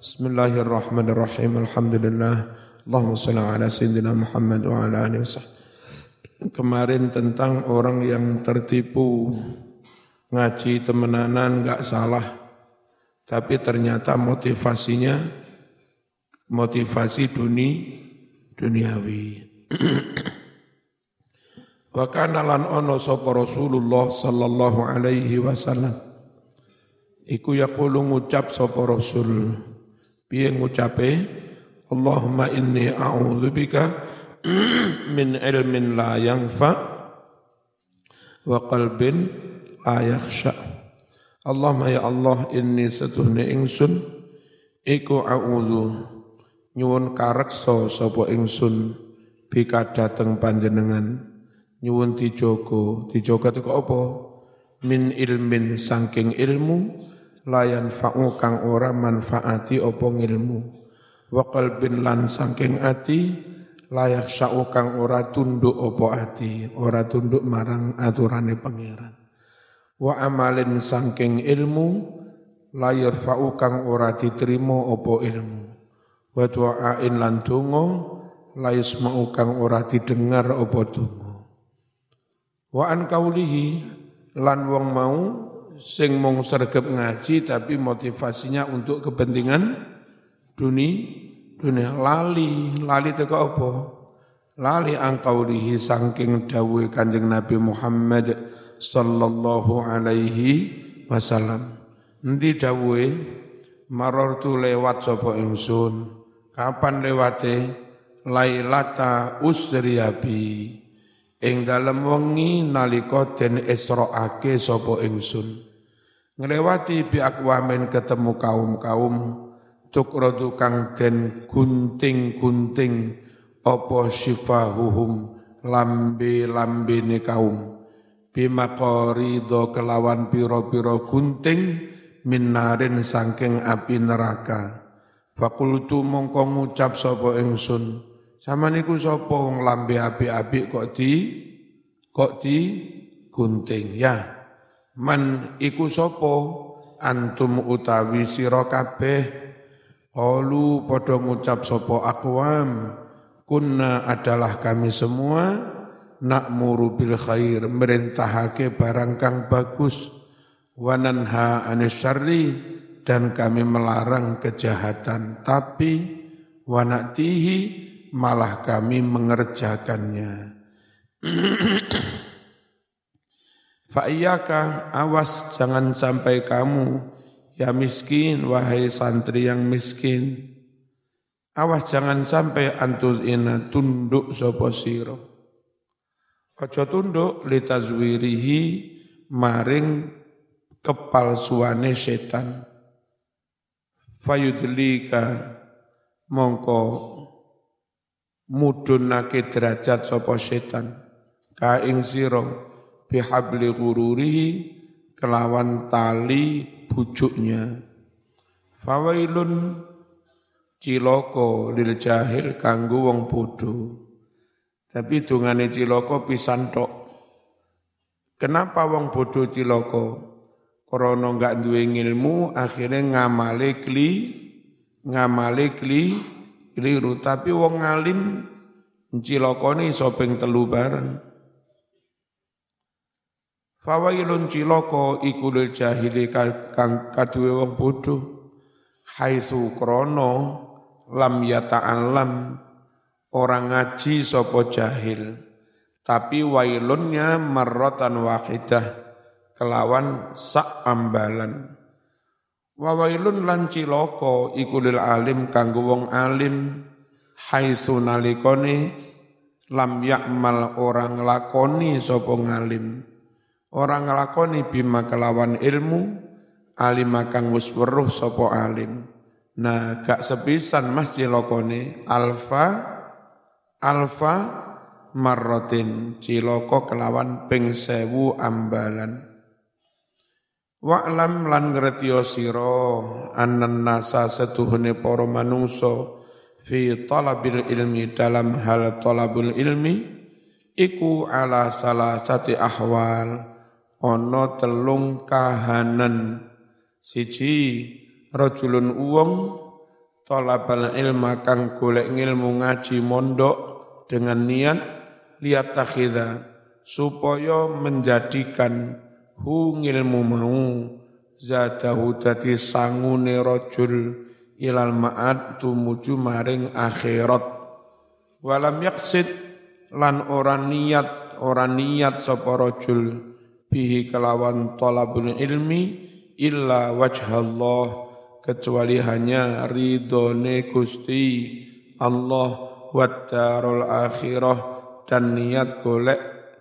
Bismillahirrahmanirrahim. Alhamdulillah. Allahumma shalli ala sayyidina Muhammad wa ala alihi wasallam. Kemarin tentang orang yang tertipu ngaji temenanan enggak salah, tapi ternyata motivasinya motivasi duniawi. Wa kana lan ono sapa Rasulullah sallallahu alaihi wasallam iku yaqulu ngucap sapa Rasul, piye ngucape, Allahumma inni a'udzubika min ilmin la yanfa wa qalbin la yakhsha. Allahumma ya Allah, inni satuhne ingsun iku a'udzu nyuwun kareksa sapa ingsun bika dateng panjenengan, nyuwun dijogo itu apa? Min ilmin saking ilmu layan fa'u kang ora manfaati apa ngilmu, wa qalbin lan saking ati layak sa'u kang ora tunduk apa ati, ora tunduk marang aturane pangeran, wa amalin saking ilmu layar fa'u kang ora diterima apa ilmu, wa du'ain lan donga layasma'u kang ora didengar apa donga, wa an kaulihi lan wong mau sing mung sregep ngaji tapi motivasinya untuk kepentingan dunia lali teko apa? Lali angkaulihi saking dawuhe Kanjeng Nabi Muhammad sallallahu alaihi wasallam. Endi dawuhe? Marartu lewat sapa ingsun. Kapan lewate? Lailata usriyabi. Ing dalem wengi nalika den isro'ake sapa ingsun, nglewati bi aqwamin ketemu kaum-kaum tukradu kang den gunting-gunting apa sifahuhum lambe-lambene kaum, bimaqarido kelawan pira-pira gunting minarin saking api neraka. Fakultu mongko ngucap sapa ingsun, sama niku sapa wong lambe apik-apik kok di gunting ya. Man iku sapa? Antum utawi sira kabeh. Qalu padha ngucap sapa aqwam, kunna adalah kami semua na'muru bil khair, merintahake barang kang bagus, wa nanha anis syarri, dan kami melarang kejahatan, tapi wa na'tihi malah kami mengerjakannya. Fa'iyaka, awas jangan sampai kamu, ya miskin, wahai santri yang miskin. Awas jangan sampai antuzina tunduk sapa sira. Aja tunduk litazwirihi maring kepalsuane setan. Fayudlika mongko mudhunake derajat sapa setan ka ing sira bihabli ghururihi kelawan tali bujuknya. Fawailun cilaka lil jahil kanggo wong bodho. Tapi dungane cilaka pisan tok. Kenapa wong bodho cilaka? Krana enggak duwe ilmu, akhirnya ngamale keliru, tapi wong alim cilakane iso ping 3 bareng. Fawailun cilaka iku lil jahili kang kaduwe wong bodho, haitsu krana lam yata'allam orang ngaji sapa jahil, tapi wailunnya marratan wahidah kelawan sak ambalan. Wa wailun lan cilaka iku lil alim kanggo wong alim, haitsu nalikane lam ya'mal orang lakoni sapa ngalim, orang nglakoni bima kelawan ilmu alim kang wis weruh sapa alim. Nah gak sepisan mas cilakane alfa marratin, cilaka kelawan ping 1000 ambalan. Wa'lam lan ngertiya sira annan nasa setuhune para manungsa fi talabil ilmi dalam hal talabul ilmi iku ala salasati ahwal, ana 3 kahanan. Siji rajulun uwong talabal ilma kang golek ngilmu ngaji mondok dengan niat liat takhidha supaya menjadikan hu ngilmu mau zadahu dadi sangune rajul ilal ma'ad tumuju maring akhirat walam yaksid lan ora niat sapa rajul bihi kelawan talabul ilmi illa wajhallah kecuali hanya ridhone Gusti Allah wad darul akhirah dan niat golek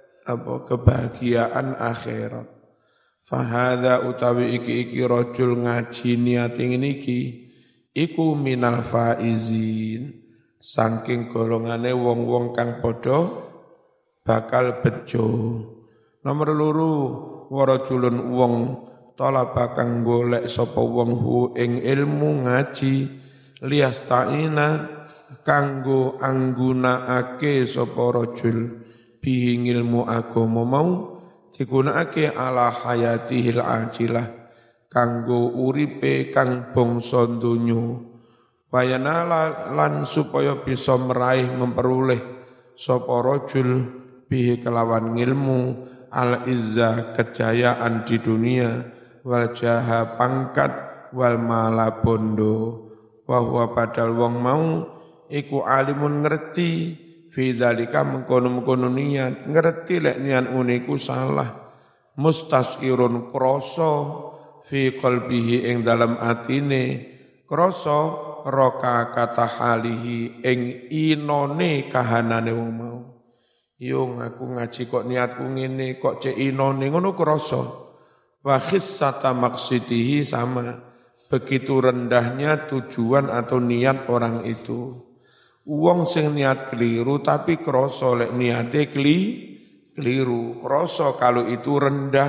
kebahagiaan akhirat. Fahadha utawi iki rajul ngaji niat ngene iki iku minal faizin saking golongane wong-wong kang padha bakal bejo. Nomor loro warajulun wong talaba kang golek sapa wong hu ing ilmu ngaji liyasta'ina kanggo anggunakake sapa rajul bihi ilmu agama mau digunakake ala hayatihil ajilah kanggo uripe kang bangsa donya wayana lan supaya bisa meraih memperoleh sapa rajul bihi kelawan ilmu al izza kejayaan di dunia wal jaha pangkat wal mala bondo wa huwa padal wong mau iku alimun ngerti fi dzalika mengkono-mengkono niat ngerti lek niat uniku salah mustasirun krasa fi qalbihi ing dalam atine krasa roka kata halihi ing inone kahanane wong mau yo aku ngaji kok niatku ngene kok cek inone ngono krasa wa khissata maqsidihi sama begitu rendahnya tujuan atau niat orang itu wong sing niat keliru tapi krasa lek niate keliru krasa kalau itu rendah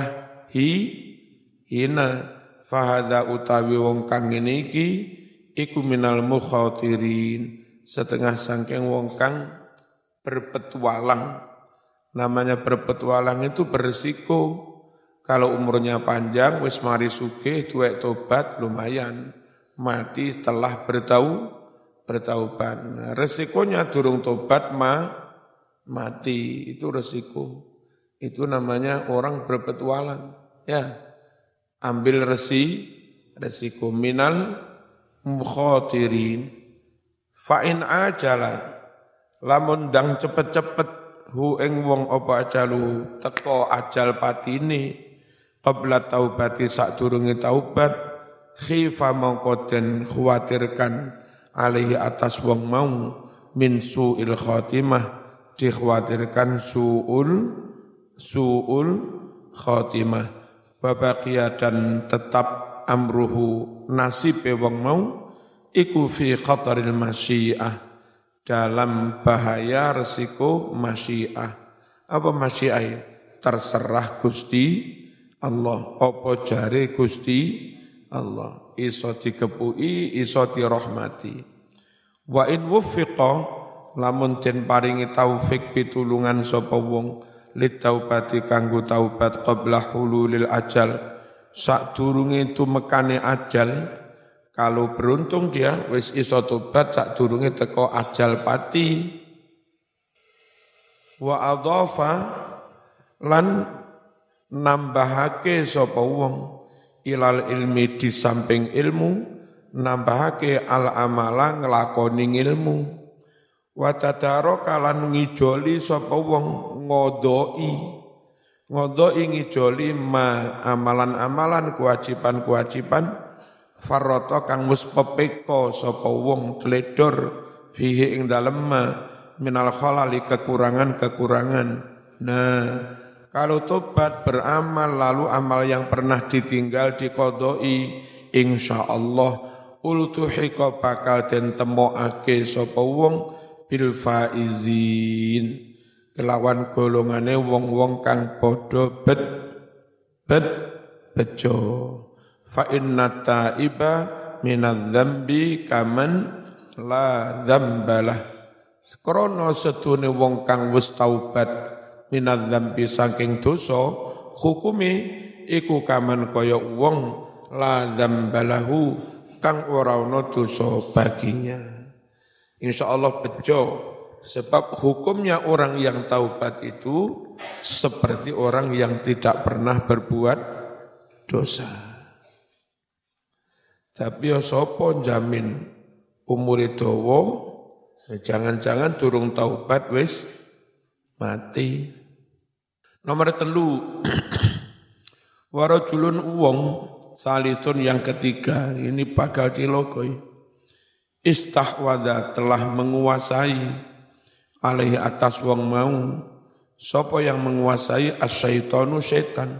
hina fahadha utawi wong kang ngene iki iku minal mukhatirin setengah sangking wong kang berpetualang. Namanya berpetualang itu berisiko. Kalau umurnya panjang, wis mari sugih, duwek tobat, lumayan. Mati setelah bertaubat. Resikonya durung tobat, mati. Itu resiko. Itu namanya orang berpetualang. Ya, ambil resiko minal mukhatirin. Fa'in ajala. Lamun dang cepet-cepet hu ing wong apa ajalu teko ajal patine qabla taubati sadurunge taubat khifa mongko den khawatirkan alaihi atas wong mau min suil khatimah dikhawatirkan suul khatimah wa baqiya dan tetap amruhu nasibe wong mau iku fi khataril masyiah dalam bahaya resiko masyiah. Apa masyiah? Terserah Gusti Allah. Apa jare Gusti Allah. Iso dikepui, iso dirahmati. Wa in wuffiqa lamun den paringi taufik pitulungan sapa wong litaubati kanggo taubat qabla hululil ajal. Sadurunge tumekane ajal. Kalau beruntung dia wis iso tobat sadurunge teko ajal pati. Wa adhafa lan nambahake sapa wong ilal ilmi di samping ilmu nambahake al amala nglakoni ilmu. Wa tadaraka lan ngijoli sapa wong ngodoi ngijoli ma amalan-amalan kewajiban-kewajiban farrata kang wis pepeka sapa wong tledor fihi ing dalem minal khalali kekurangan-kekurangan. Nah, kalau tobat beramal lalu amal yang pernah ditinggal diqodoi insyaallah ultuhiqa bakal den temokake sapa wong bil faizin kelawan golongane wong-wong kang padha bejo. Fa inna taiba minadz-dzambi kaman la dzambalah. Krana sedune wong kang wis taubat minadz-dzambi saking dosa, hukume iku kaman kaya wong la dzambalahu kang ora ana dosa baginya. Insyaallah bejo, sebab hukumnya orang yang taubat itu seperti orang yang tidak pernah berbuat dosa. Tapi ya sapa jamin umure dawa, jangan-jangan durung taubat wis mati. Nomor 3, warajulun uwong salisun yang ketiga, ini bakal cilokoi. Istahwadha telah menguasai alaihi atas wong mau, sapa yang menguasai asyaitonu setan.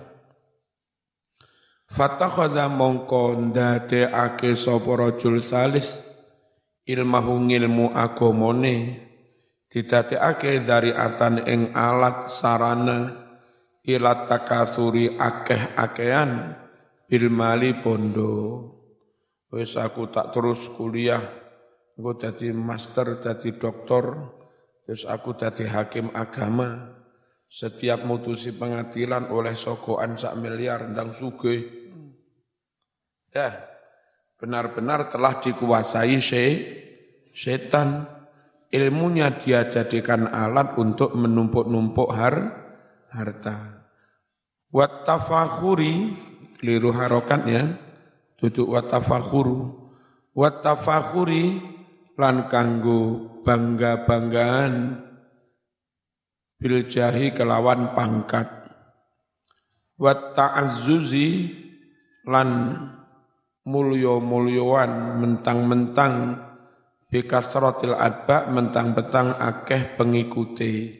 Fatakhadha mongko ndadekake sapa rajul salis ilmahu ngilmu agamane, didadekake dari atan ing alat sarana ila takatsuri akeh-akehan bil mali bondo. Wis aku tak terus kuliah, aku jadi master, jadi doktor, terus aku jadi hakim agama. Setiap mutusi pengadilan oleh sogoan 1 miliar ndang sugih. Ya, benar-benar telah dikuasai setan. Ilmunya dia jadikan alat untuk menumpuk-numpuk harta. Wat tafakhuri, keliru harokatnya, duduk wat tafakhuru. Wat tafakhuri lan kanggo bangga-banggaan bil jahi kelawan pangkat. Wat ta'azzuzi lan mulya-mulyoan mentang-mentang bikasratil adba mentang-mentang akeh pengikuti.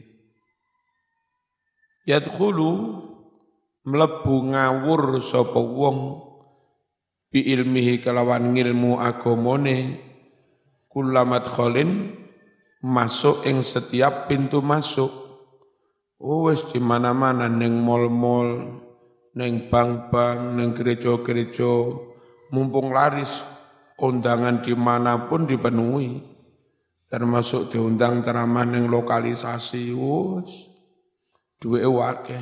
Yadkhulu mlebu ngawur sapa wong bi ilmihi kelawan ngilmu agamane kullamat kholin masuk ing setiap pintu masuk. Wis di mana-mana ning mall-mall, ning bank-bank, ning gereja-gereja, mumpung laris undangan dimanapun dipenuhi, termasuk diundang ceramah ning lokalisasi. Wis duwe akeh.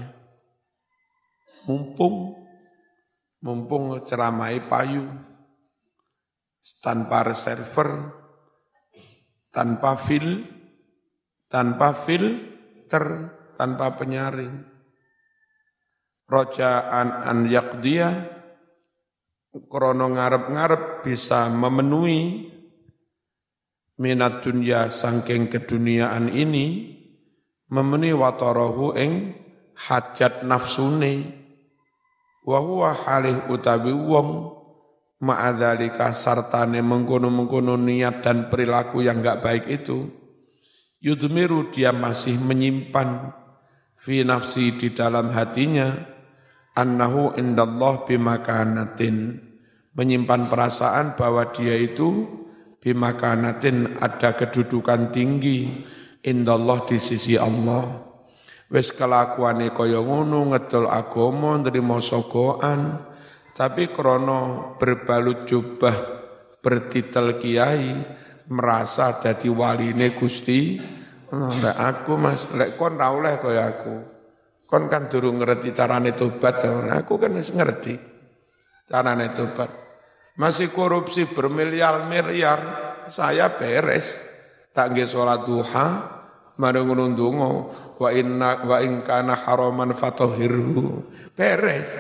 Mumpung ceramai payu, tanpa reserver, tanpa filter, tanpa penyaring. Roja'an an yaqdiyah, krono ngarep-ngarep bisa memenuhi minat dunya sangking keduniaan ini, memenuhi watarahu ing hajat nafsune. Wa huwa halih utawi wong ma'adzalika sartane mengkono-mengkono niat dan perilaku yang enggak baik itu, yudmiru dia masih menyimpan fi nafsi di dalam hatinya annahu indallah bimakanatin, menyimpan perasaan bahwa dia itu bimakanatin ada kedudukan tinggi indallah di sisi Allah. Wis kelakuane kaya ngono ngedol agama nrimo sogoan, tapi krono berbalut jubah bertitel kiai merasa dadi waline Gusti. Lek aku Mas, lek kon ra oleh kaya aku. Kon kan durung ngerti carane tobat, aku kan wis ngerti carane tobat. Masih korupsi bermiliar-miliar, saya beres. Tak nggih salat duha, marang ndonga wa in kana haraman fatahhirhu. Beres.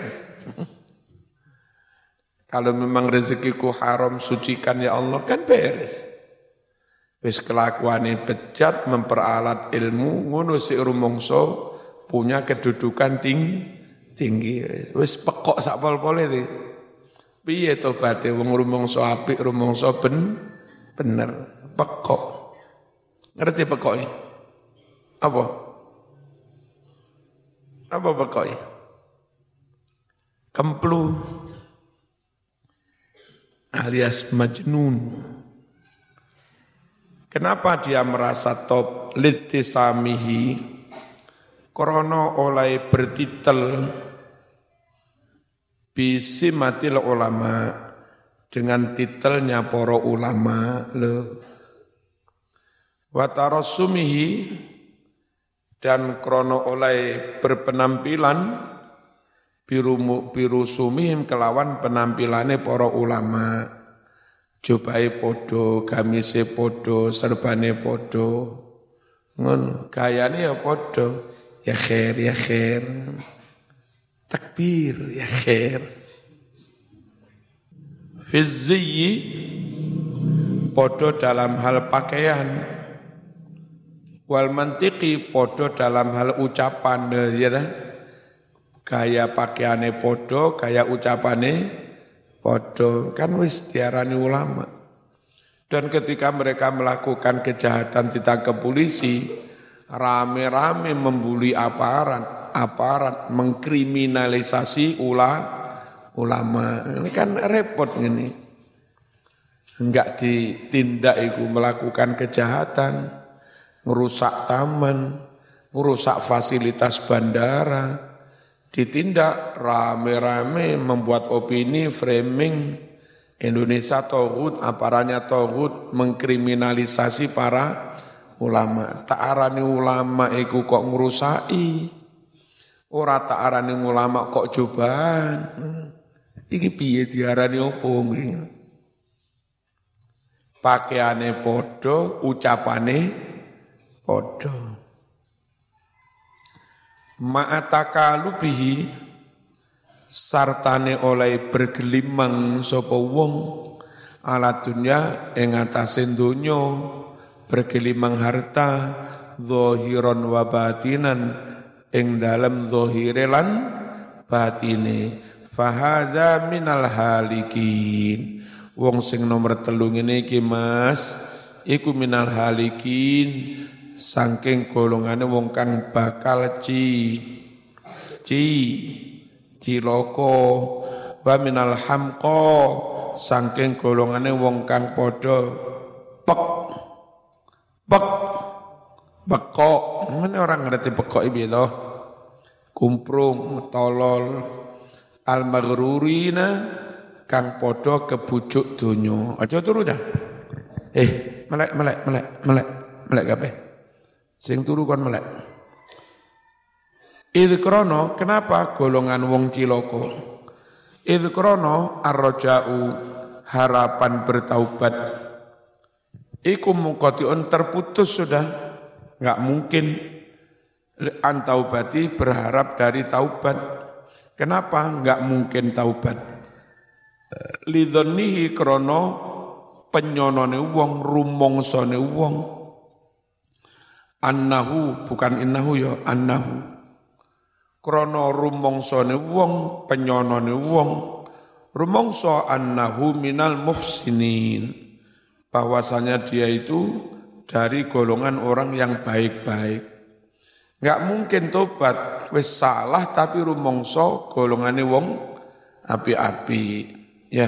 Kalau memang rezekiku haram, sucikan ya Allah, kan beres. Wis kelakuane bejat memperalat ilmu, ngono sik rumangsa punya kedudukan tinggi. Wis pekok sak pol-pole iki. Piye tobaté wong rumangsa apik, rumangsa bener, pekok. Ngerti pekoke? Apa pekoke? Kemplu alias majnun. Kenapa dia merasa top litisamihi? Krono oleh bertitel bisimatil ulama, dengan titelnya para ulama le. Wa tarassumihi, dan krono oleh berpenampilan birusumihim kelawan penampilane para ulama. jubahe podo, gamise podo, serbane podo. Ngono, gayane ya podo. Ya khair, ya khair. Takbir, ya khair. Fizziyi podo dalam hal pakaian. Wal mantiki podo dalam hal ucapan, ya dah. Gaya pakaiane podo, gaya ucapane podo. Kan wis diarani ulama. Dan ketika mereka melakukan kejahatan ditangkap polisi, rame-rame membuli aparat mengkriminalisasi ulama. Ini kan repot ini. Enggak ditindak itu melakukan kejahatan, ngerusak taman, ngerusak fasilitas bandara. Ditindak rame-rame membuat opini framing Indonesia tauhid, aparatnya tauhid mengkriminalisasi para ulama. Tak arani ulama iku kok ngrusaki. Ora tak arani ulama kok cobaan. Iki piye diarani opo ngene? Pakaiane padha, ucapane padha. Ma'atakalubihi sartane oleh bergelimang sapa wong ala dunya ing atase donya, bergelimang harta zahiran wa batinan ing dalem zahire lan batine. Fahadza minal halikin. Wong sing nomor 3 ngene iki Mas, iku minal halikin, saking golongane wong kang bakal ciloko. Wa minal hamqa, saking golongane wong kang padha bekok. Mana orang ngerti bekok iki to? Kumprung, tolol, al-maghrurina kang padha kebujuk donya. Aja turu dah. Melek kabeh. Sing turu kon melek. Idh krono, kenapa golongan wong ciloko? Idh krono ar-raja'u, harapan bertaubat. Iku muqati'un, terputus sudah. Enggak mungkin antaubati berharap dari taubat. Kenapa enggak mungkin taubat? Lidhonnihi krono penyonone wong, rumongsone wong. Annahu, bukan innahu ya, annahu. Krono rumongsone wong, penyonone wong. Rumongso annahu minal muhsinin. Bahwasanya dia itu dari golongan orang yang baik-baik. Enggak mungkin tobat, wis salah tapi rumongso golongane wong api-api, ya.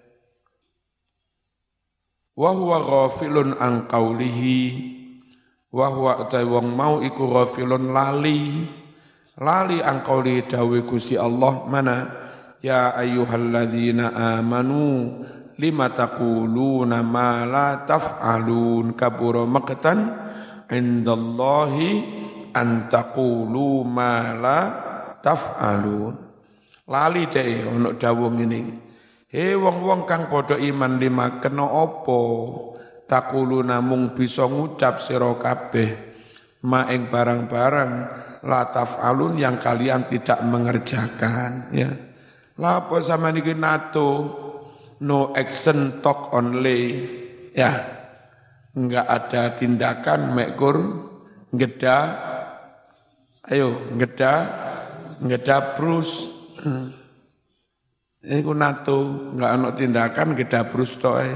Wa huwa ghafilun an qaulihi, wa huwa utai wong mau iku ghafilun lali an qaulihi dawe Gusti Allah mana ya ayyuhalladzina amanu lima taquluna ma la taf'alun kabura maqtan indallahi an taqulu ma la taf'alun. Lali deh ono dawuh ngene. He wong-wong kang padha iman lima kena apa? Taquluna mung bisa ngucap sira kabeh ma ing barang-barang la taf'alun yang kalian tidak mengerjakan, ya. La apa sampeyan iki NATO no action talk only, ya. Enggak ada tindakan mekur ngeda. Ayo ngeda brus. Iku NATO enggak ana tindakan ngeda brus tok ae.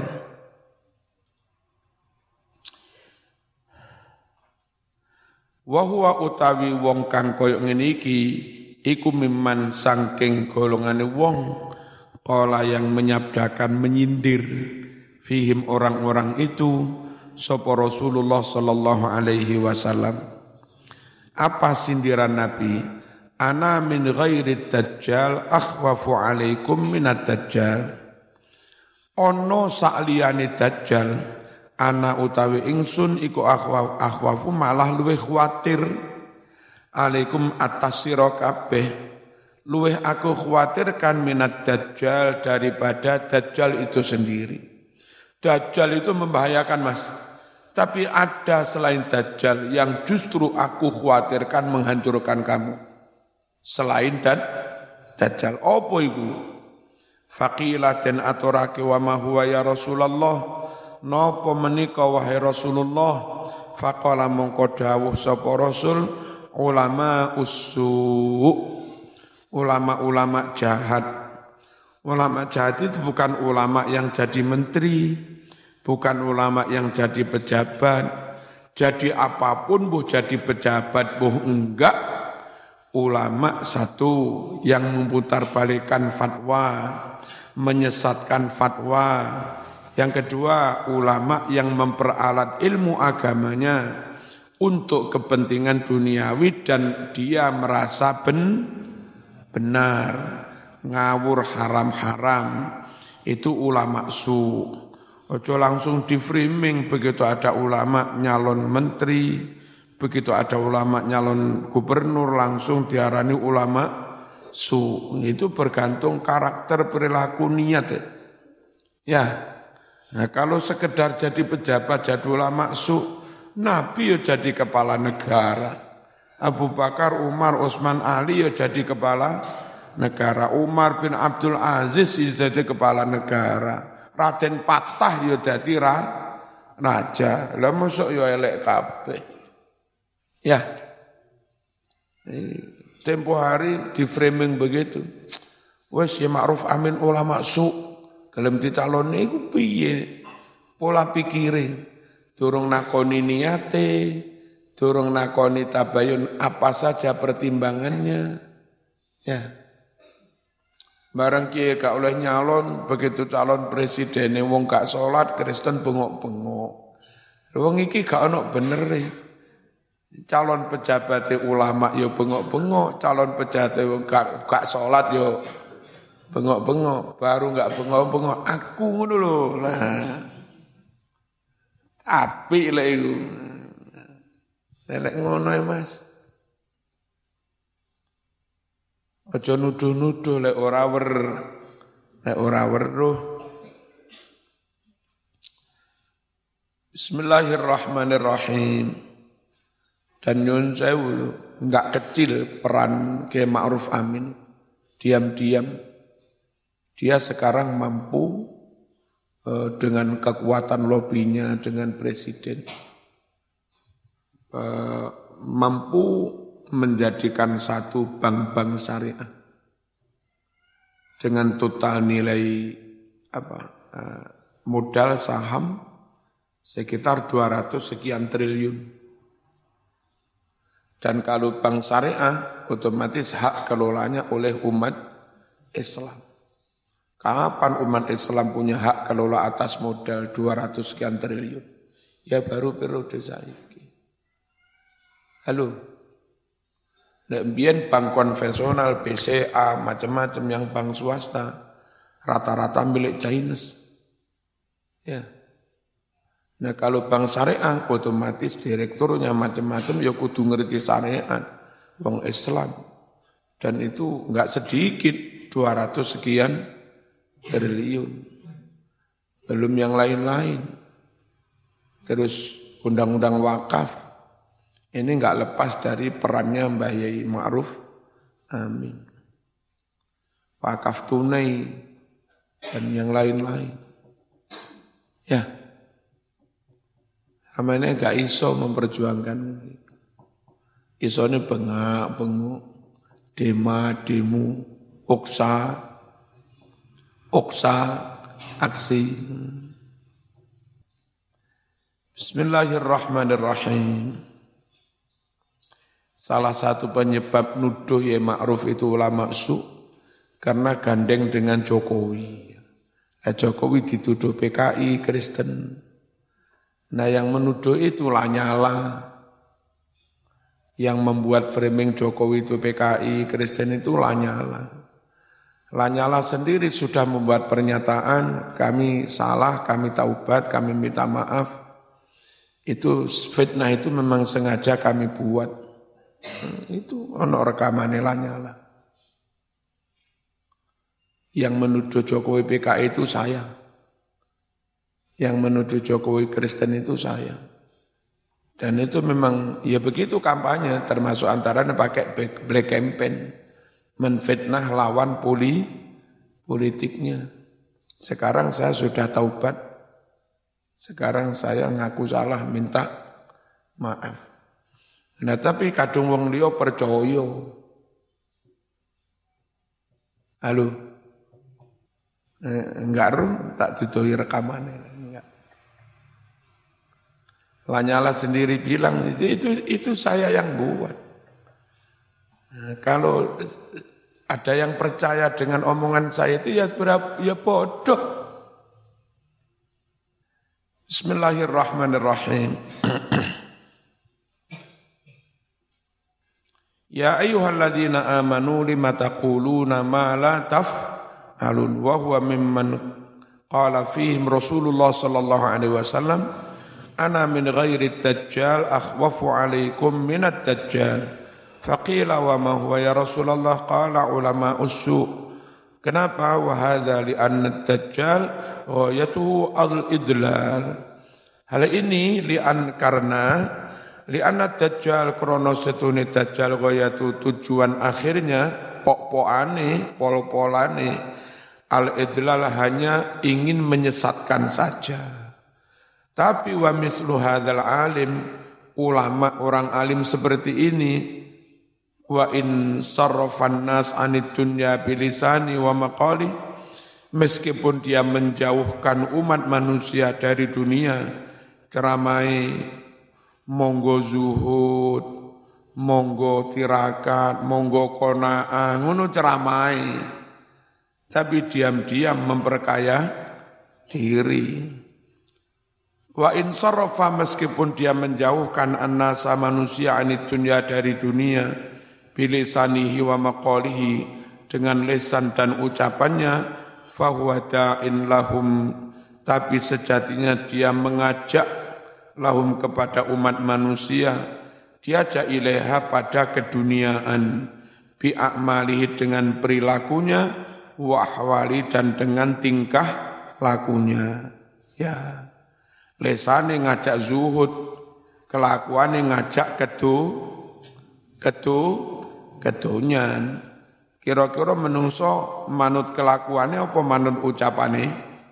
Wa huwa utawi wong kang koyo ngene iki iku mimman saking golongane wong qala yang menyabdakan menyindir fihim orang-orang itu sapa Rasulullah sallallahu alaihi wasallam. Apa sindiran Nabi? Ana min ghairi dajjal akhwafu alaikum minad dajjal. Ono sakliyane dajjal ana utawi ingsun iku akhwafu malah luwih khawatir alaikum atas sira kabeh, luwih aku khawatirkan minat dajjal daripada dajjal itu sendiri. Dajjal itu membahayakan Mas. Tapi ada selain Dajjal yang justru aku khawatirkan menghancurkan kamu. Selain Dajjal. Apa itu? Faqila den aturake wa ma huwa ya Rasulullah. Napa menika wahai Rasulullah? Faqala mongko dawuh sapa Rasul, ulama ulama jahat. Ulama jahat itu bukan ulama yang jadi menteri, bukan ulama yang jadi pejabat. Jadi apapun buh jadi pejabat buh enggak, ulama satu yang memutarbalikkan fatwa, menyesatkan fatwa. Yang kedua, ulama yang memperalat ilmu agamanya untuk kepentingan duniawi dan dia merasa benar, ngawur haram-haram. Itu ulama su. Ojo langsung di framing begitu ada ulama nyalon menteri, begitu ada ulama nyalon gubernur langsung diarani ulama su. Itu bergantung karakter, perilaku, niat. Ya. Nah, kalau sekedar jadi pejabat, jadi ulama su, Nabi ya jadi kepala negara. Abu Bakar, Umar, Utsman, Ali ya jadi kepala negara. Umar bin Abdul Aziz ya jadi kepala negara. Raden Patah ya jadi raja. Lah mosok ya elek kabeh. Ya. Tempo hari di framing begitu. Wes ya Ma'ruf Amin ulama su. Gelem dicaloni iku piye? Pola pikire. Durung nakoni niate, durung nakoni tabayun apa saja pertimbangannya. Ya. Barang kiye gak oleh nyalon, begitu calon presiden wong gak salat, Kristen bengok-bengok. Wong iki gak ono benere. Calon pejabat ulama yo bengok-bengok, calon pejabat wong gak salat yo bengok-bengok, baru enggak bengok-bengok, aku ngono lho. Lah. Apik lek iku. Nek ngono ya Mas. Aja nuduh-nuduh lek ora weruh. Bismillahirrahmanirrahim. Dan nyun sewu enggak kecil peran Kiai Ma'ruf Amin. Diam-diam dia sekarang mampu dengan kekuatan lobinya dengan presiden, mampu menjadikan satu bank-bank syariah dengan total nilai modal saham sekitar 200 sekian triliun. Dan kalau bank syariah otomatis hak kelolanya oleh umat Islam. Kapan umat Islam punya hak kelola atas modal 200 sekian triliun? Ya baru periode saiki. Halo. Nek mbiyen bank konvensional, BCA, macam-macam yang bank swasta, rata-rata milik Chinese. Ya. Nah kalau bank syariah, otomatis direkturnya macam-macam ya kudu ngerti syariat, wong Islam. Dan itu enggak sedikit, 200 sekian triliun. Belum yang lain-lain. Terus undang-undang wakaf. Ini enggak lepas dari perannya Mbah Yai Ma'ruf Amin. Wakaf tunai dan yang lain-lain. Ya. Amane enggak iso memperjuangkan. Isone bengak-bengok, demo, Oksa, aksi. Bismillahirrahmanirrahim. Salah satu penyebab nuduh ya Ma'ruf itu ulama su karena gandeng dengan Jokowi. Jokowi dituduh PKI Kristen. Nah yang menuduh itu Lanyala. Yang membuat framing Jokowi itu PKI Kristen itu Lanyala. Lanyala sendiri sudah membuat pernyataan, kami salah, kami taubat, kami minta maaf. Itu fitnah itu memang sengaja kami buat. Itu ono rekamannya Lanyala. Yang menuduh Jokowi PKI itu saya. Yang menuduh Jokowi Kristen itu saya. Dan itu memang ya begitu kampanye, termasuk antaranya pakai black campaign, menfitnah lawan politiknya. Sekarang saya sudah taubat. Sekarang saya ngaku salah, minta maaf. Nah tapi kadung wong liya percaya. Halo. Enggak tak dudoi rekamannya. Enggak. Lanyala sendiri bilang itu saya yang buat. Nah, kalau ada yang percaya dengan omongan saya itu ya bodoh. Bismillahirrahmanirrahim. Ya ayyuhalladzina amanu lima taquluna ma la taf'alun wa huwa mimman qala fihim Rasulullah sallallahu alaihi wasallam ana min ghairi dajjal akhwafu alaikum minad dajjal faqila wa ma huwa ya Rasulullah qala ulama ussu. Kenapa? Wa hadza li anna dajjal ghayatuhu al-idlal. Hal ini karena li'anna dajjal krono setune dajjal ghayatu tujuan akhirnya pok-pokane pol-polane al-idlal hanya ingin menyesatkan saja. Tapi wa mislu hadzal alim ulama orang alim seperti ini wa in sarrafan nas anid dunya bilisani wa maqali, meskipun dia menjauhkan umat manusia dari dunia, ceramai, monggo zuhud, monggo tirakat, monggo qanaah, ngono ceramai, tapi diam-diam memperkaya diri. Wa in sarrafa, meskipun dia menjauhkan annasa manusia anid dunya dari dunia, bilisanihi wa maqalihi, dengan lisan dan ucapannya, fahuwa da'in lahum, tapi sejatinya dia mengajak lahum kepada umat manusia, diajak ilaiha pada keduniaan, bi'a'malihi dengan perilakunya, wa ahwali dan dengan tingkah lakunya. Ya, lesane ngajak zuhud, kelakuane ngajak kedonyan. Kira-kira menungso manut kelakuannya apa manut ucapane?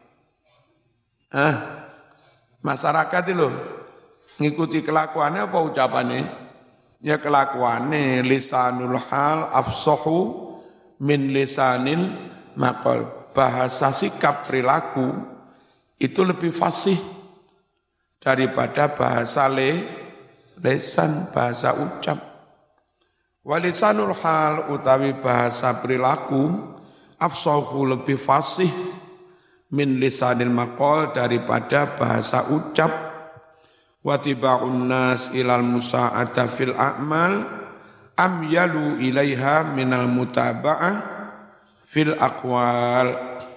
Masyarakat itu ngikuti kelakuannya apa ucapane? Ya kelakuannya, lisanul hal afsahu min lisanil maqal. Bahasa sikap perilaku itu lebih fasih daripada bahasa lisan, bahasa ucap. Walisanul hal utawi bahasa perilaku afsahu lebih fasih min lisanil maqal daripada bahasa ucap. Watiba'un nas ilal musa'ata fil a'mal amyalu ilaiha minal mutaba'ah fil aqwal.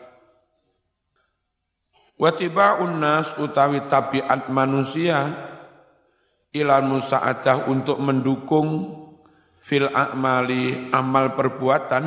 Watiba'un nas utawi tabiat manusia ilal musa'ata untuk mendukung fil a'mali amal perbuatan,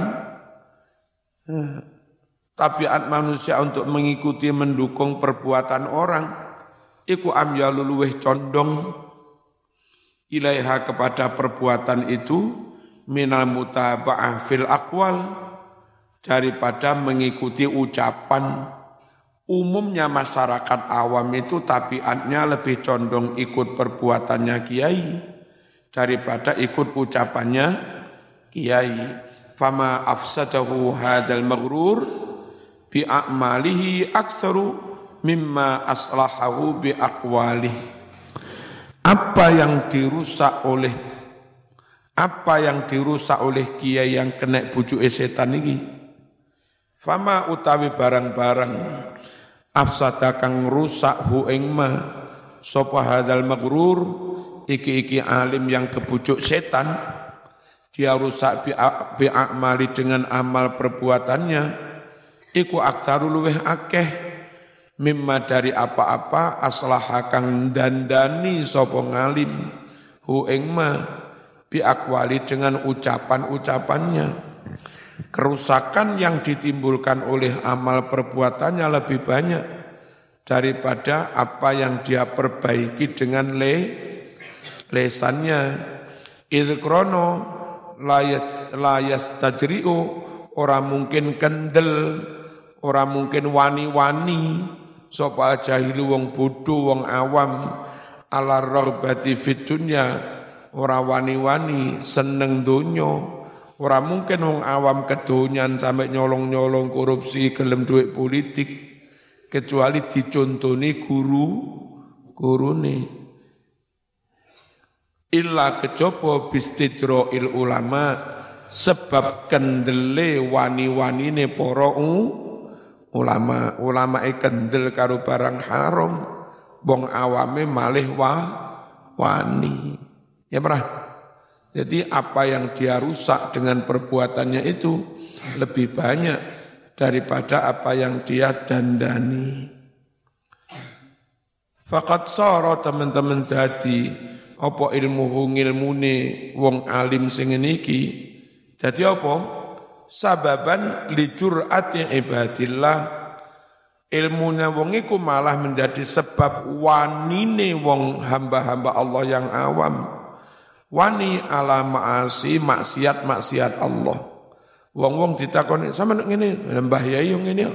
tabiat manusia untuk mengikuti mendukung perbuatan orang, iku amyalu luweh condong ilaiha kepada perbuatan itu minal mutaba'ah fil aqwal daripada mengikuti ucapan. Umumnya masyarakat awam itu tabiatnya lebih condong ikut perbuatannya kiai daripada ikut ucapannya kiai. Fama afsadahu hadzal maghrur bi a'malihi aktsaru mimma aslahahu bi aqwalihi. Apa yang dirusak oleh kiai yang kena bujuke setan iki? Fama utawi barang-barang afsada kang rusak hu ing ma sapa hadzal maghrur, iki alim yang kebujuk setan, dia rusak bi'amali dengan amal perbuatannya, iku aktaru luweh akeh mimma dari apa-apa aslaha kang dandani sapa ngalim hu ing ma biakwali dengan ucapan-ucapannya. Kerusakan yang ditimbulkan oleh amal perbuatannya lebih banyak daripada apa yang dia perbaiki dengan lesannya. Idh krono layas tajri'u, ora mungkin kendel, ora mungkin wani-wani, sapa jahilu wong bodho wong awam, ala raghbati fid dunya, ora wani-wani seneng donya. Ora mungkin wong awam kedonyan sampai nyolong-nyolong korupsi gelem duit politik, kecuali dicontoni gurune. Illa kejaba bistidroil ulama, sebab kendele wani-wanine para ulama. Ulamae kendel karo barang haram, wong awame malih wani. Ya pernah? Jadi apa yang dia rusak dengan perbuatannya itu lebih banyak daripada apa yang dia dandani. Faqad sara teman-teman dadi apa ilmune wong alim sing niki dadi apa? Sababan li jur'ati ibadillah. Ilmune wong iku malah menjadi sebab wanine wong hamba-hamba Allah yang awam. Wani ala ma'asi maksiat Allah. Wong-wong ditakoni, sama nek ngene, Mbah Yai yang ngene.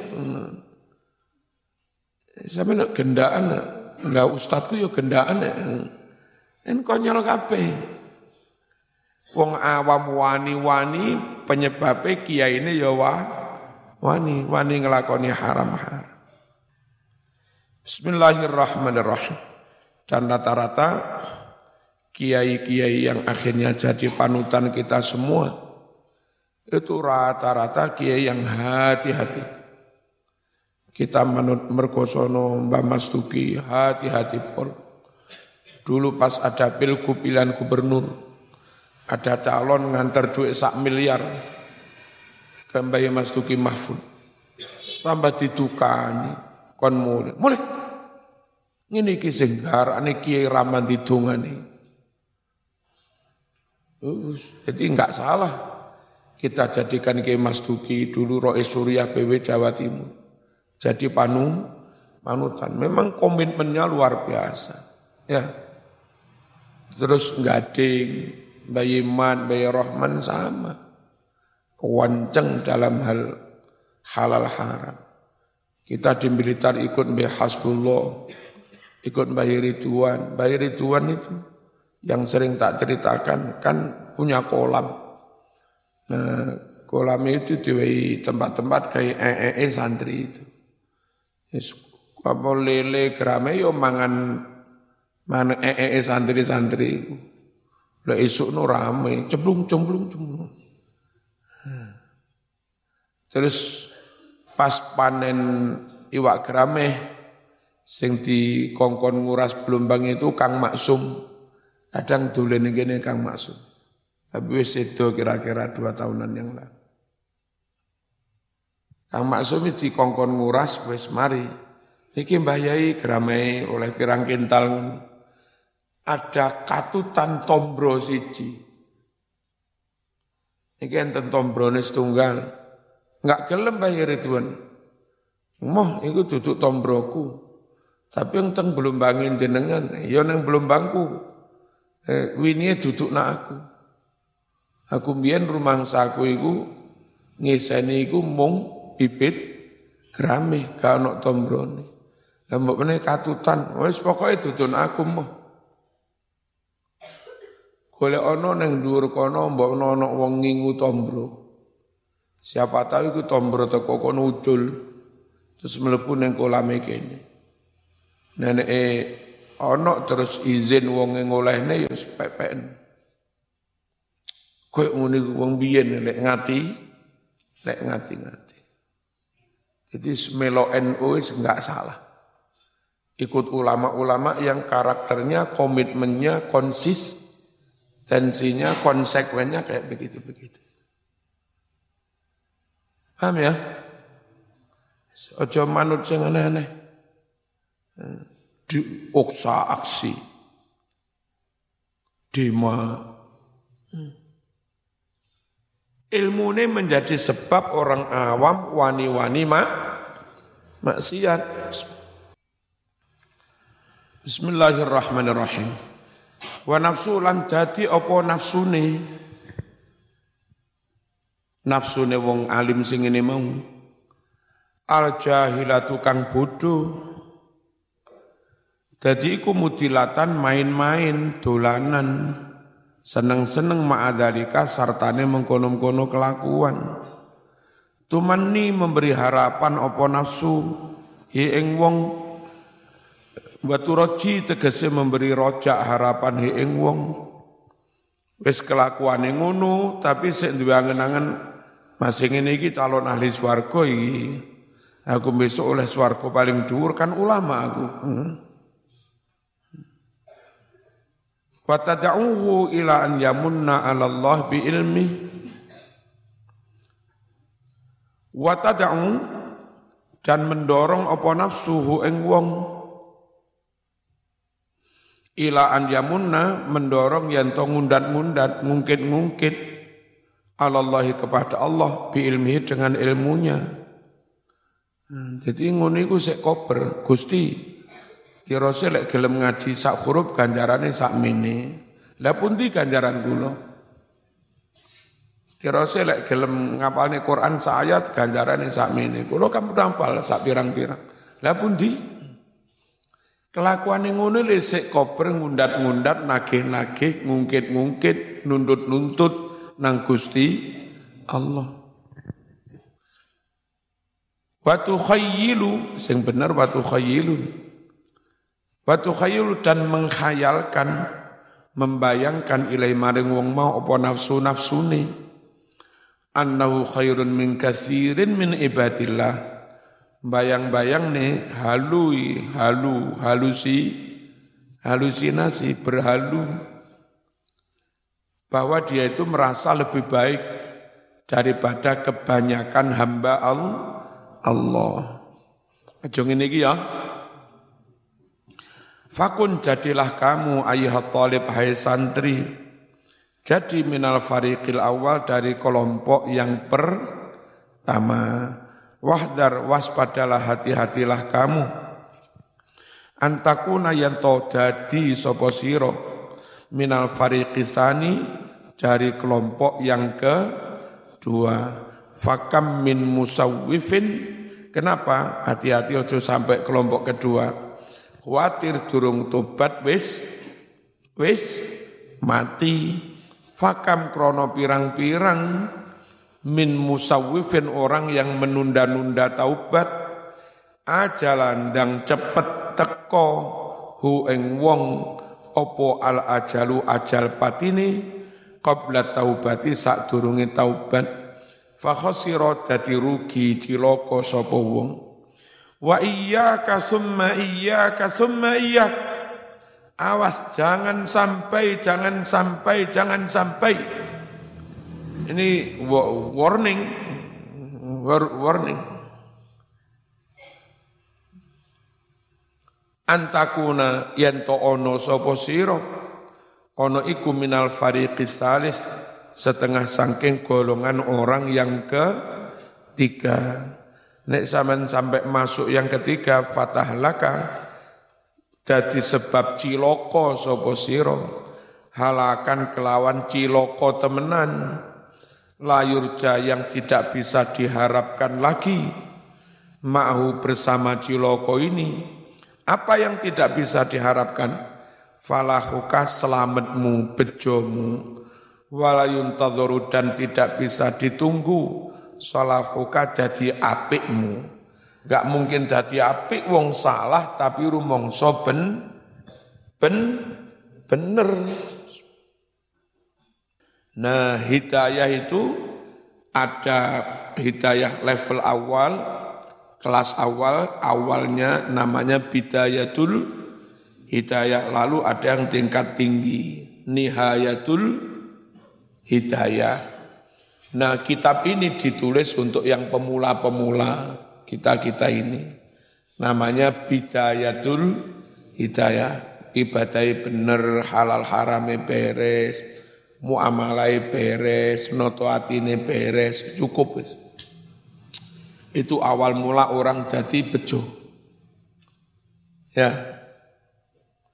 Sama nek gendaan, lah ustadku yo gendaan. En konyol kabeh. Wong awam wani-wani penyebabe kiyaine ya wani nglakoni haram-haram. Bismillahirrahmanirrahim. Dan rata-rata kiai-kiai yang akhirnya jadi panutan kita semua, itu rata-rata kiai yang hati-hati. Kita manut mergosono Mbah Mas Duki, hati-hati pol. Dulu pas ada pilgub pilihan gubernur, ada calon nganter duit 1 miliar ke Mbah Mas Duki Mahfud. Tambah didukani, kon mulai. Ngene iki sing garane kiai raman didongani. Jadi enggak salah kita jadikan Kiai Mas Duki dulu Rois Surya PW Jawa Timur jadi panutan. Memang komitmennya luar biasa. Ya. Terus Gading, Bayi Iman, Bayi Rahman sama. Kewanceng dalam hal halal haram. Kita di militer ikut Mbah Hasbullah, ikut Bayi Ridwan. Bayi Ridwan itu yang sering tak ceritakan kan punya kolam. Nah, kolam itu di tempat-tempat kayak santri itu. Yes, apa lele gerame yo mangan santri-santri itu. Lah esuk no rame, cemplung. Terus pas panen iwak gerame sing dikongkon nguras Belumbang itu Kang Maksum. Kadang dolen ngene Kang Maksum. Tapi wis sedo kira-kira 2 tahunan yang lalu. Kang Maksum iki dikongkon nguras wis mari. Niki Mbah Yai geramai oleh pirang kintal. Ada katutan tombro siji. Niki enten tombrone setunggal. Enggak gelem Mbah Yai Ridwan. Moh iku duduk tombroku. Tapi yang teng Belumbangin jenengan, ya nang Belumbangku. Winie duduk nak aku. Aku mbiyen rumangsaku iku ngiseni iku mung bibit gerame gak ono tombrone. Lah mbok meneh katutan, wis pokoke duduk aku mah. Golek ono nang dhuwur kono mbok ono wong ngingu tombro. Siapa tahu iku tombro teko kono ucul terus mlebu ning kolame kene. Neneke ana terus izin wong ngolehne ya pepeken. Kowe ngene wong biyen lek ngati. Jadi semelo NU enggak salah. Ikut ulama-ulama yang karakternya, komitmennya, konsistensinya, konsekuennya kayak begitu-begitu. Paham ya? Ojo manut sing aneh-aneh. Diuksa aksi. Dema. Ilmu ini menjadi sebab orang awam wani-wani maksiat. Bismillahirrahmanirrahim. Wa nafsu lan dadi apa nafsune? Nafsune wong alim sing ngene mau. Al jahilatu kang bodho. Dadi iku mutilatan main-main dolanan. Seneng-seneng ma'adzalika sartane mengkono-kono kelakuan. Tumanni memberi harapan apa nafsu ing wong. Watu roji tegese memberi rojak harapan ing wong. Wis kelakuane ngono tapi sik duwe angen-angen masih ngene iki calon ahli swarga iki. Aku besok oleh swarga paling dhuwur kan ulama aku. Wa tad'uhu ila an yamunna 'ala Allah bi ilmi. Wa tad'u dan mendorong apa nafsuhu ing wong ila an yamunna mendorong yen to ngundat-ngundat ngungkit-ngungkit alallahi kepada Allah bi ilmihi dengan ilmunya. Jadi ngono iku sik kober Gusti kirose lek gelem ngaji sak huruf ganjarane sak mene. Lah pundi ganjaran kula? Kirose lek gelem ngapalne Quran sak ayat ganjarane sak mene. Kula kan hafal sak pirang-pirang. Lah pundi? Kelakuane ngono le sik kober ngundat-ngundat, nagih-nagih, ngungkit-ngungkit, nuntut-nuntut nang Gusti Allah. Wa tukhayyilu sing bener wa tukhayyilu. Wa tukhayyilu dan mengkhayalkan, membayangkan ilai maring wong mau apa nafsu-nafsune. Annahu khairun min katsirin min ibadillah. Bayang-bayang nih halusinasi berhalu bahwa dia itu merasa lebih baik daripada kebanyakan hamba Allah. Aja ngene iki ya. Fakun jadilah kamu ayyuhat talib hai santri. Jadi minal fariqil awal dari kelompok yang pertama. Wahdar waspadalah hati-hatilah kamu antakuna yanto dadi sapa sira minal fariqisani dari kelompok yang kedua. Fakam min musawwifin, kenapa hati-hati ojo sampai kelompok kedua, khawatir durung tobat wis mati. Fakam krono pirang-pirang min musawwifin orang yang menunda-nunda taubat ajalan dang cepet teko hu ing wong opo al ajalu ajal patini qabla taubati sadurunge taubat fa khasira dadi rugi cilaka sapa wong. Wa iyyaka summa iyyak, awas jangan sampai ini warning. Antakuna yanto ono sapa sira ono iku minal fariqis salis setengah sangking golongan orang yang ketiga. Nek sampean sampai masuk yang ketiga fatahlaka dadi sebab cilaka sapa sira halakan kelawan cilaka temenan. Layurja yang tidak bisa diharapkan lagi ma'hu bersama ciloko ini. Apa yang tidak bisa diharapkan? Falahuka selamatmu, bejomu. Walayun tadzoru dan tidak bisa ditunggu. Salahuka jadi apikmu. Gak mungkin jadi apik wong salah tapi rumongso bener. Nah, hidayah itu ada hidayah level awal, kelas awal, awalnya namanya bidayatul hidayah. Lalu ada yang tingkat tinggi, nihayatul hidayah. Nah, kitab ini ditulis untuk yang pemula-pemula, kita-kita ini. Namanya bidayatul hidayah. Ibadahnya bener, halal haramnya beres, muamalai beres, noto atine beres, cukup wis. Itu awal mula orang jadi bejo. Ya.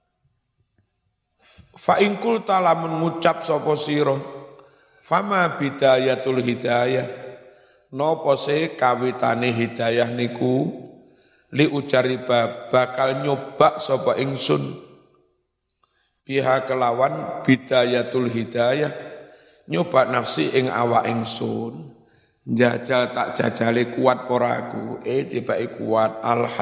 Fa in qulta lamun ngucap sapa sira fama bidayatul hidayah napa se kawitane hidayah niku li ujariba bakal nyoba sapa ingsun biha kelawan bidayatul hidayah nyoba nafsi ing awak ingsun jajal tak jajale kuat pora aku tibake kuat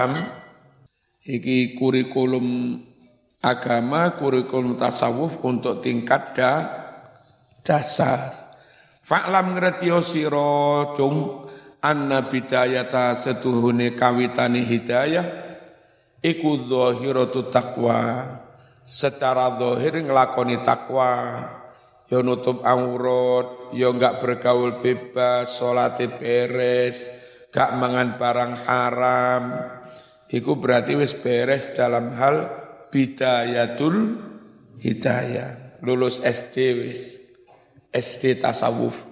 iki kurikulum agama, kurikulum tasawuf untuk tingkat dasar. Fa'lam ngertiyo sira cung anna bidayata setuhune kawitane hidayah iku zahiratu taqwa. Secara zahir nglakoni takwa, ya nutup aurat, ya enggak bergaul bebas, salate beres, gak mangan barang haram. Iku berarti wis beres dalam hal bidayatul hidayah, lulus SD wis, SD tasawuf.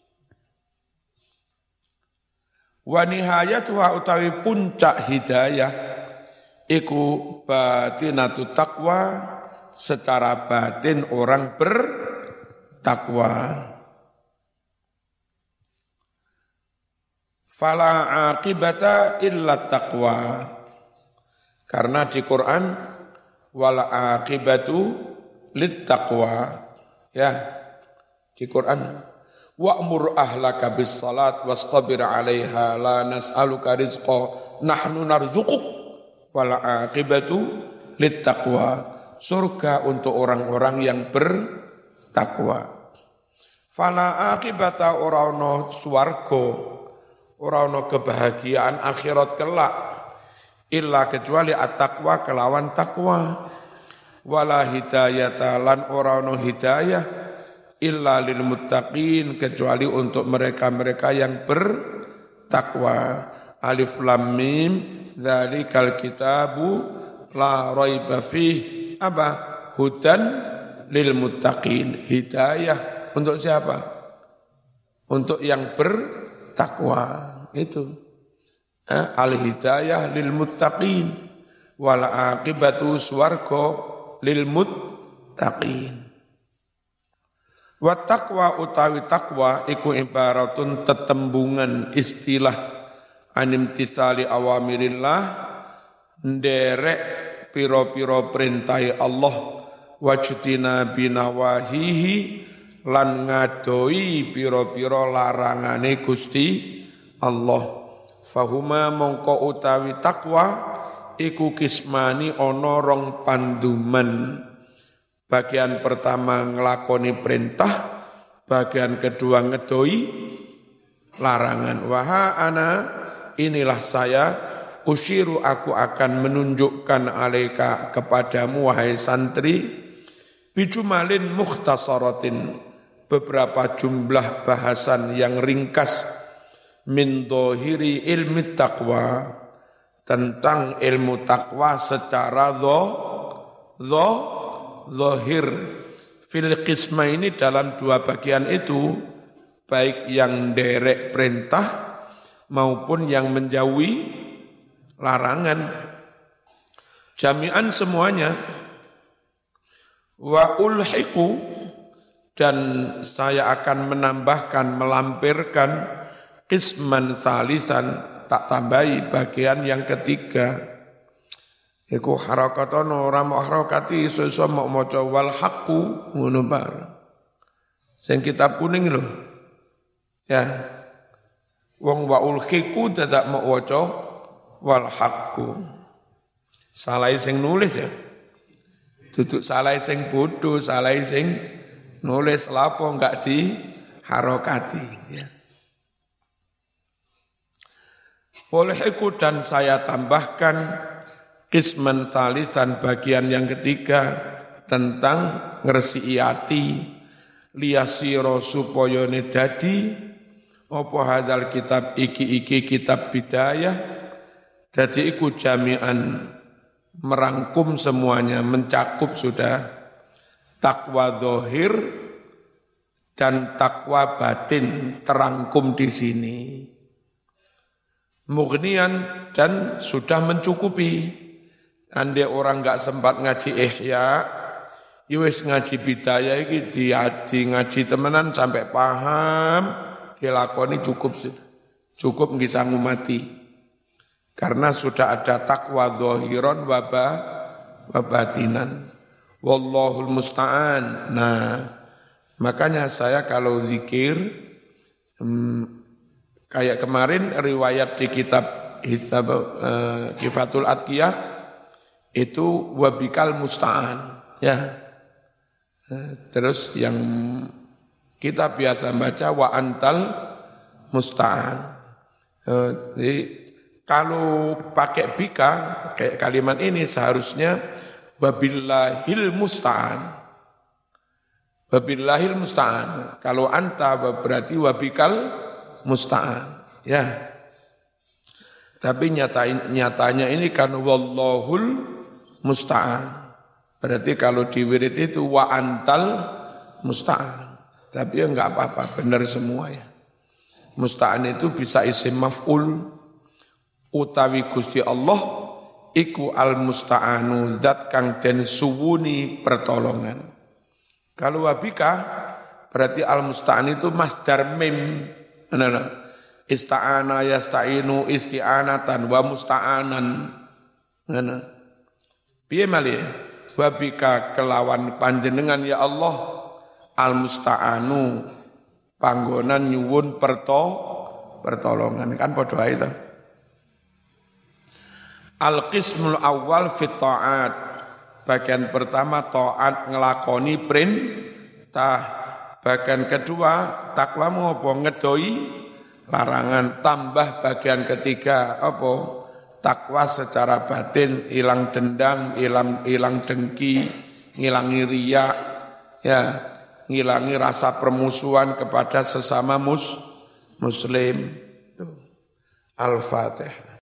Wa nihayatuha utawi puncak hidayah, iku batinatu taqwa, secara batin orang bertakwa. Fala aqibata illa taqwa. Karena di Quran wal aqibatu lit taqwa, ya di Quran wa'mur ahlaka bis salat wastabir 'alaiha la nas'aluka rizqa nahnu narzuquk wal aqibatu lit taqwa, surga untuk orang-orang yang bertakwa. Fala aqibata ora ono swarga, ora ono kebahagiaan akhirat kelak illa kecuali at-taqwa kelawan takwa. Wala hidayata lan ora ono hidayah illa lil muttaqin kecuali untuk mereka-mereka yang bertakwa. Alif lam mim dzalikal kitabu la raiba fih hudan lil muttaqin. Hidayah untuk siapa? Untuk yang bertakwa itu. Al-hidayah lil muttaqin wal aqibatu swarga lil muttaqin. Wa taqwa utawi taqwa iku ibaratun tetembungan istilah animtisali awamirillah nderek piro-piro perintai Allah wajtina binawahihi lan ngadoi piro-piro larangane Gusti Allah. Fahuma mongko utawi takwa iku kismani ono rong panduman. Bagian pertama nglakoni perintah, bagian kedua ngedoi larangan. Waha ana inilah saya usyiru aku akan menunjukkan alaika kepadamu wahai santri bijumalin mukhtasaratin beberapa jumlah bahasan yang ringkas min dhahiri ilmi taqwa tentang ilmu taqwa secara zahir fil qisma ini dalam dua bagian itu baik yang derek perintah maupun yang menjauhi larangan jami'an semuanya wa ulhiqu dan saya akan menambahkan melampirkan qisman salisan tak tambahi bagian yang ketiga. Iku harakatono ora mau harakati iso-iso mau maca wal haqqu ngono bar. Sing kitab kuning lho. Ya. Wong wa ulhiqu dadak mau waca wal haqqu. Salah sing nulis ya. Duduk salah sing bodoh, salah sing nulis lapo enggak di harakati ya. Olehku dan saya tambahkan qisman talis dan bagian yang ketiga tentang ngresiki ati liyasira supaya dadi apa hadzal kitab iki kitab bidayah dadi iku jami'an merangkum semuanya mencakup sudah takwa zahir dan takwa batin terangkum di sini. Mughnian dan sudah mencukupi. Andai orang enggak sempat ngaji ihya, Ya wis ngaji bidayah iki di ngaji temenan sampai paham, dilakoni cukup. Cukup nggih sanggup mati. Karena sudah ada takwa zahiran wa batinan. Wallahul musta'an. Nah, makanya saya kalau zikir kayak kemarin riwayat di kitab Kifatul Atqiyah itu wabikal musta'an, ya. Terus yang kita biasa baca wa antal musta'an. Jadi kalau pakai bika kayak kalimat ini seharusnya wabillahil musta'an. Wabillahil musta'an. Kalau anta berarti wabikal musta'an. Ya. Tapi nyatanya ini kan wallahul musta'an. Berarti kalau di wirid itu wa antal musta'an. Tapi ya enggak apa-apa, benar semua ya. Musta'an itu bisa isim maf'ul utawi Gusti Allah iku al musta'anu zat kang den suwuni pertolongan. Kalau wabika berarti al musta'an itu masdar mim. Ista'ana yasta'inu isti'anatan wa musta'anan. Piye malih? Wabika kelawan panjenengan ya Allah al musta'anu panggonan nyuwun pertolongan kan padha ae to. Al-qismul awal fit ta'at. Bagian pertama taat ngelakoni perintah. Bagian kedua takwa apa ngedoi larangan. Tambah bagian ketiga apa? Takwa secara batin, hilang dendam, hilang dengki, ngilangi riya, ya, ngilangi rasa permusuhan kepada sesama muslim. Al-Fatihah.